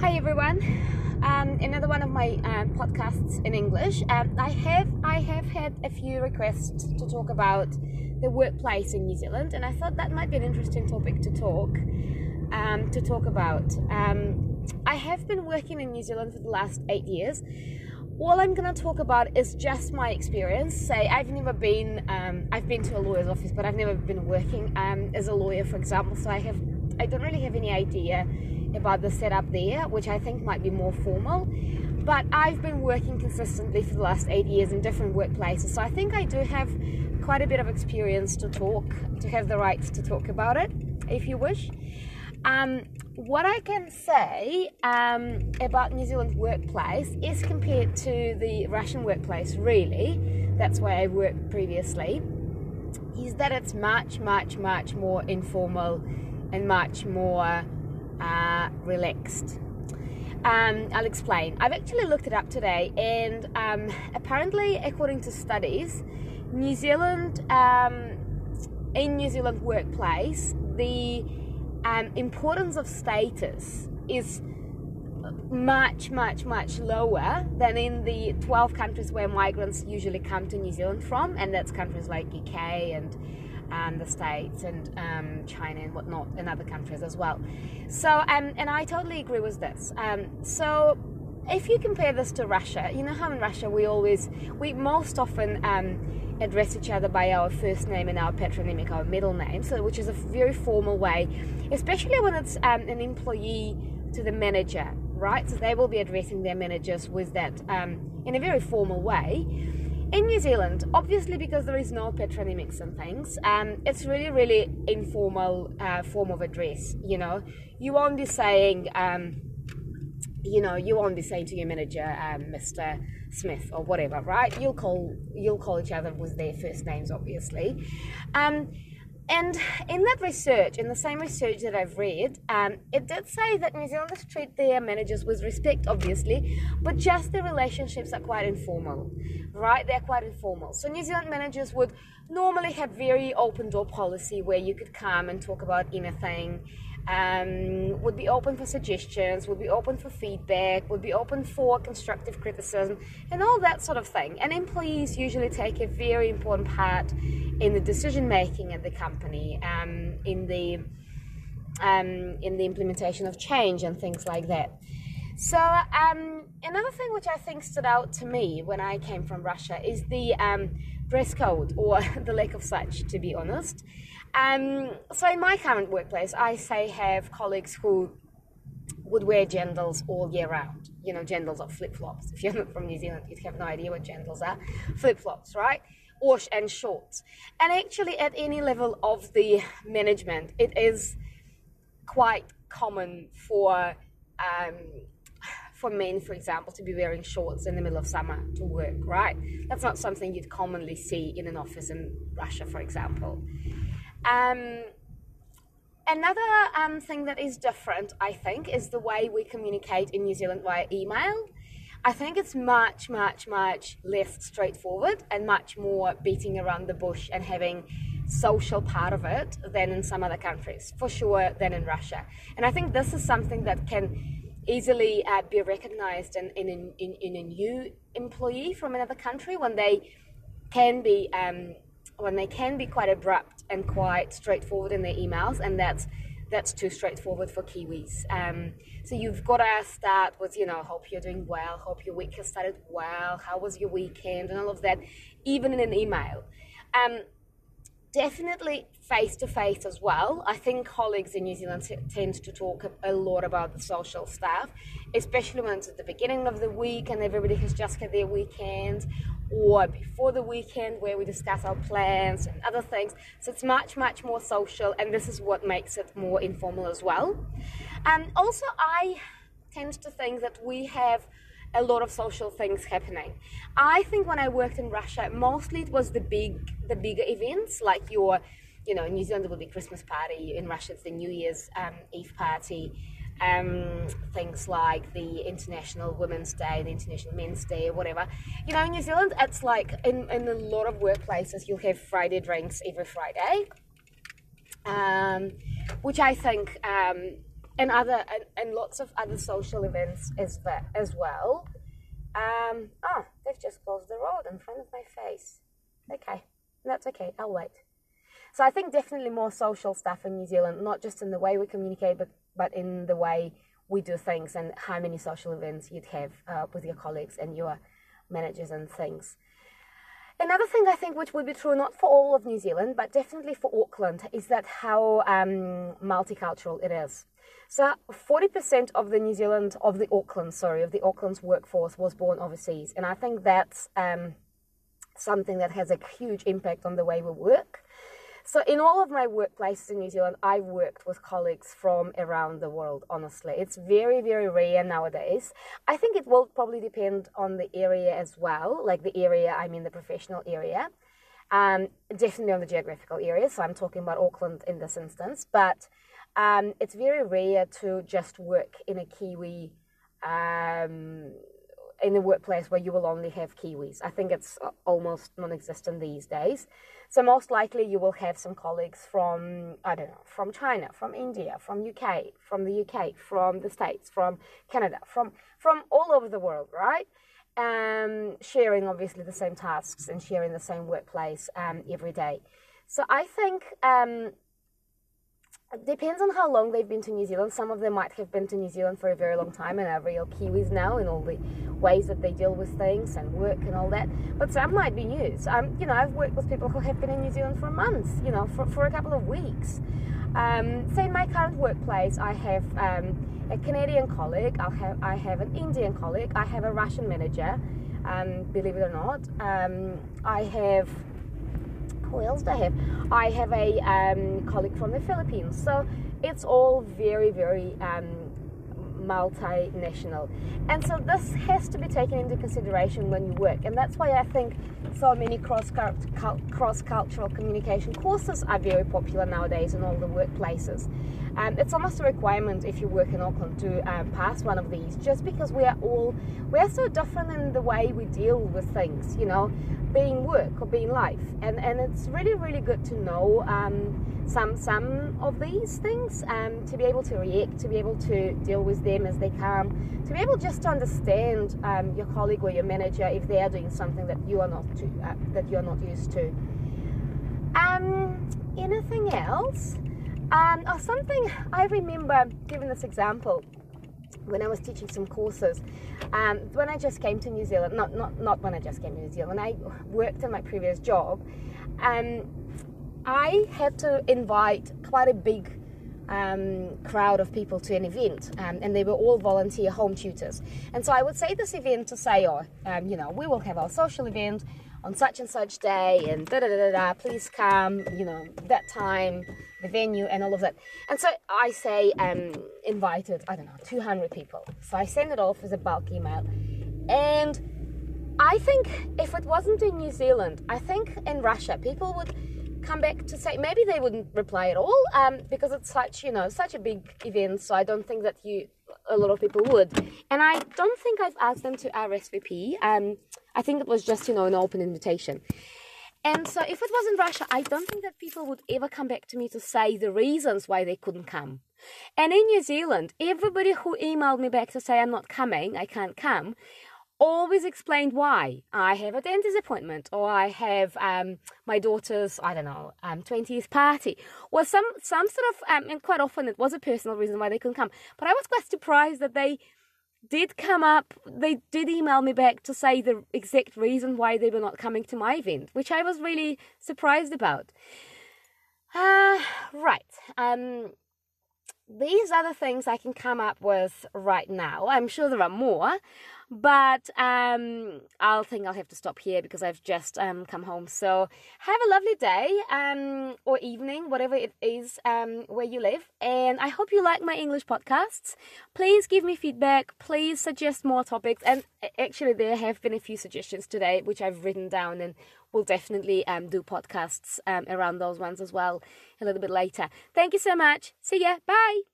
Hi everyone. Another one of my podcasts in English. I have had a few requests to talk about the workplace in New Zealand, and I thought that might be an interesting topic to talk about. I have been working in New Zealand for the last 8 years. All I'm going to talk about is just my experience. Say, I've been to a lawyer's office, but I've never been working as a lawyer, for example. So I don't really have any idea about the setup there, which I think might be more formal. But I've been working consistently for the last 8 years in different workplaces. So I think I do have quite a bit of experience to have the rights to talk about it, if you wish. What I can say about New Zealand workplace is compared to the Russian workplace, really, that's where I worked previously, is that it's much, much, much more informal and much more relaxed. I'll explain. I've actually looked it up today, and apparently, according to studies, in New Zealand workplace, the importance of status is much, much, much lower than in the 12 countries where migrants usually come to New Zealand from, and that's countries like UK and the States and China and whatnot, and other countries as well. So, and I totally agree with this. So if you compare this to Russia, you know how in Russia we most often address each other by our first name and our patronymic, our middle name, so which is a very formal way, especially when it's an employee to the manager, right? So they will be addressing their managers with that in a very formal way. In New Zealand, obviously because there is no patronymics and things, it's really, really informal form of address. You know, you won't be saying, to your manager, Mr. Smith or whatever, right? You'll call each other with their first names, obviously. And in that research, in the same research that I've read, it did say that New Zealanders treat their managers with respect, obviously, but just their relationships are quite informal, right? They're quite informal. So New Zealand managers would normally have very open door policy where you could come and talk about anything, would be open for suggestions, would be open for feedback, would be open for constructive criticism, and all that sort of thing. And employees usually take a very important part in the decision making at the company, in the implementation of change and things like that. So another thing which I think stood out to me when I came from Russia is the dress code, or the lack of such, to be honest. So in my current workplace, I have colleagues who would wear jandals all year round. You know, jandals are flip-flops. If you're not from New Zealand, you'd have no idea what jandals are. Flip-flops, right? And shorts. And actually, at any level of the management, it is quite common for men, for example, to be wearing shorts in the middle of summer to work, right? That's not something you'd commonly see in an office in Russia, for example. Another thing that is different, I think, is the way we communicate in New Zealand via email. I think it's much, much, much less straightforward and much more beating around the bush and having social part of it than in some other countries, for sure, than in Russia. And I think this is something that can easily be recognized in a new employee from another country when they can be quite abrupt and quite straightforward in their emails, and that's too straightforward for Kiwis. So you've got to start with, hope you're doing well, hope your week has started well, how was your weekend, and all of that, even in an email. Definitely face-to-face as well. I think colleagues in New Zealand tend to talk a lot about the social stuff, especially when it's at the beginning of the week and everybody has just had their weekend, or before the weekend where we discuss our plans and other things. So it's much, much more social, and this is what makes it more informal as well. Also, I tend to think that we have a lot of social things happening. I think when I worked in Russia, mostly it was the bigger events, like in New Zealand it would be Christmas party, in Russia it's the New Year's Eve party, things like the International Women's Day, the International Men's Day, or whatever. In New Zealand, it's like in a lot of workplaces you'll have Friday drinks every Friday, which I think and lots of other social events as well. They've just closed the road in front of my face. Okay, that's okay, I'll wait. So I think definitely more social stuff in New Zealand, not just in the way we communicate, but in the way we do things and how many social events you'd have with your colleagues and your managers and things. Another thing I think which would be true not for all of New Zealand, but definitely for Auckland, is that how multicultural it is. So 40% of the Auckland's workforce was born overseas. And I think that's something that has a huge impact on the way we work. So in all of my workplaces in New Zealand, I worked with colleagues from around the world, honestly. It's very, very rare nowadays. I think it will probably depend on the area as well, like the area, I mean the professional area. Definitely on the geographical area, so I'm talking about Auckland in this instance. But it's very rare to just work in a Kiwi, in a workplace where you will only have Kiwis. I think it's almost non-existent these days. So most likely you will have some colleagues from, I don't know, from China, from India, from UK, from the UK, from the States, from Canada, from all over the world, right? Sharing obviously the same tasks and sharing the same workplace every day. So I think it depends on how long they've been to New Zealand. Some of them might have been to New Zealand for a very long time and are real Kiwis now in all the ways that they deal with things and work and all that. But some might be new. So, I've worked with people who have been in New Zealand for months, for a couple of weeks. So in my current workplace, I have a Canadian colleague, I have an Indian colleague, I have a Russian manager, believe it or not. I have... Who else do I have? I have a colleague from the Philippines. So it's all very, very multinational. And so this has to be taken into consideration when you work. And that's why I think so many cross-cultural communication courses are very popular nowadays in all the workplaces. It's almost a requirement if you work in Auckland to pass one of these, just because we are so different in the way we deal with things, being work or being life. And it's really, really good to know some of these things, to be able to react, to be able to deal with them as they come, to be able just to understand your colleague or your manager if they are doing something that you are not used to. Anything else? Something I remember, giving this example, when I was teaching some courses, when I just came to New Zealand, not when I just came to New Zealand, when I worked in my previous job, I had to invite quite a big crowd of people to an event, and they were all volunteer home tutors. And so I would say this event to say, we will have our social event on such and such day, and please come, that time, the venue, and all of that. And so I say, invited, 200 people. So I send it off as a bulk email. And I think if it wasn't in New Zealand, I think in Russia, people would come back to say, maybe they wouldn't reply at all, because it's such a big event. So I don't think that a lot of people would. And I don't think I've asked them to RSVP. I think it was just, an open invitation. And so if it was in Russia, I don't think that people would ever come back to me to say the reasons why they couldn't come. And in New Zealand, everybody who emailed me back to say I'm not coming, I can't come, always explained why. I have a dentist appointment, or I have my daughter's, 20th party, or some sort of, and quite often it was a personal reason why they couldn't come. But I was quite surprised that they did come up, they did email me back to say the exact reason why they were not coming to my event, which I was really surprised about. Right. These are the things I can come up with right now. I'm sure there are more, but I'll have to stop here because I've just come home. So have a lovely day or evening, whatever it is where you live. And I hope you like my English podcasts. Please give me feedback. Please suggest more topics. And actually, there have been a few suggestions today, which I've written down, and we'll definitely do podcasts around those ones as well a little bit later. Thank you so much. See ya. Bye.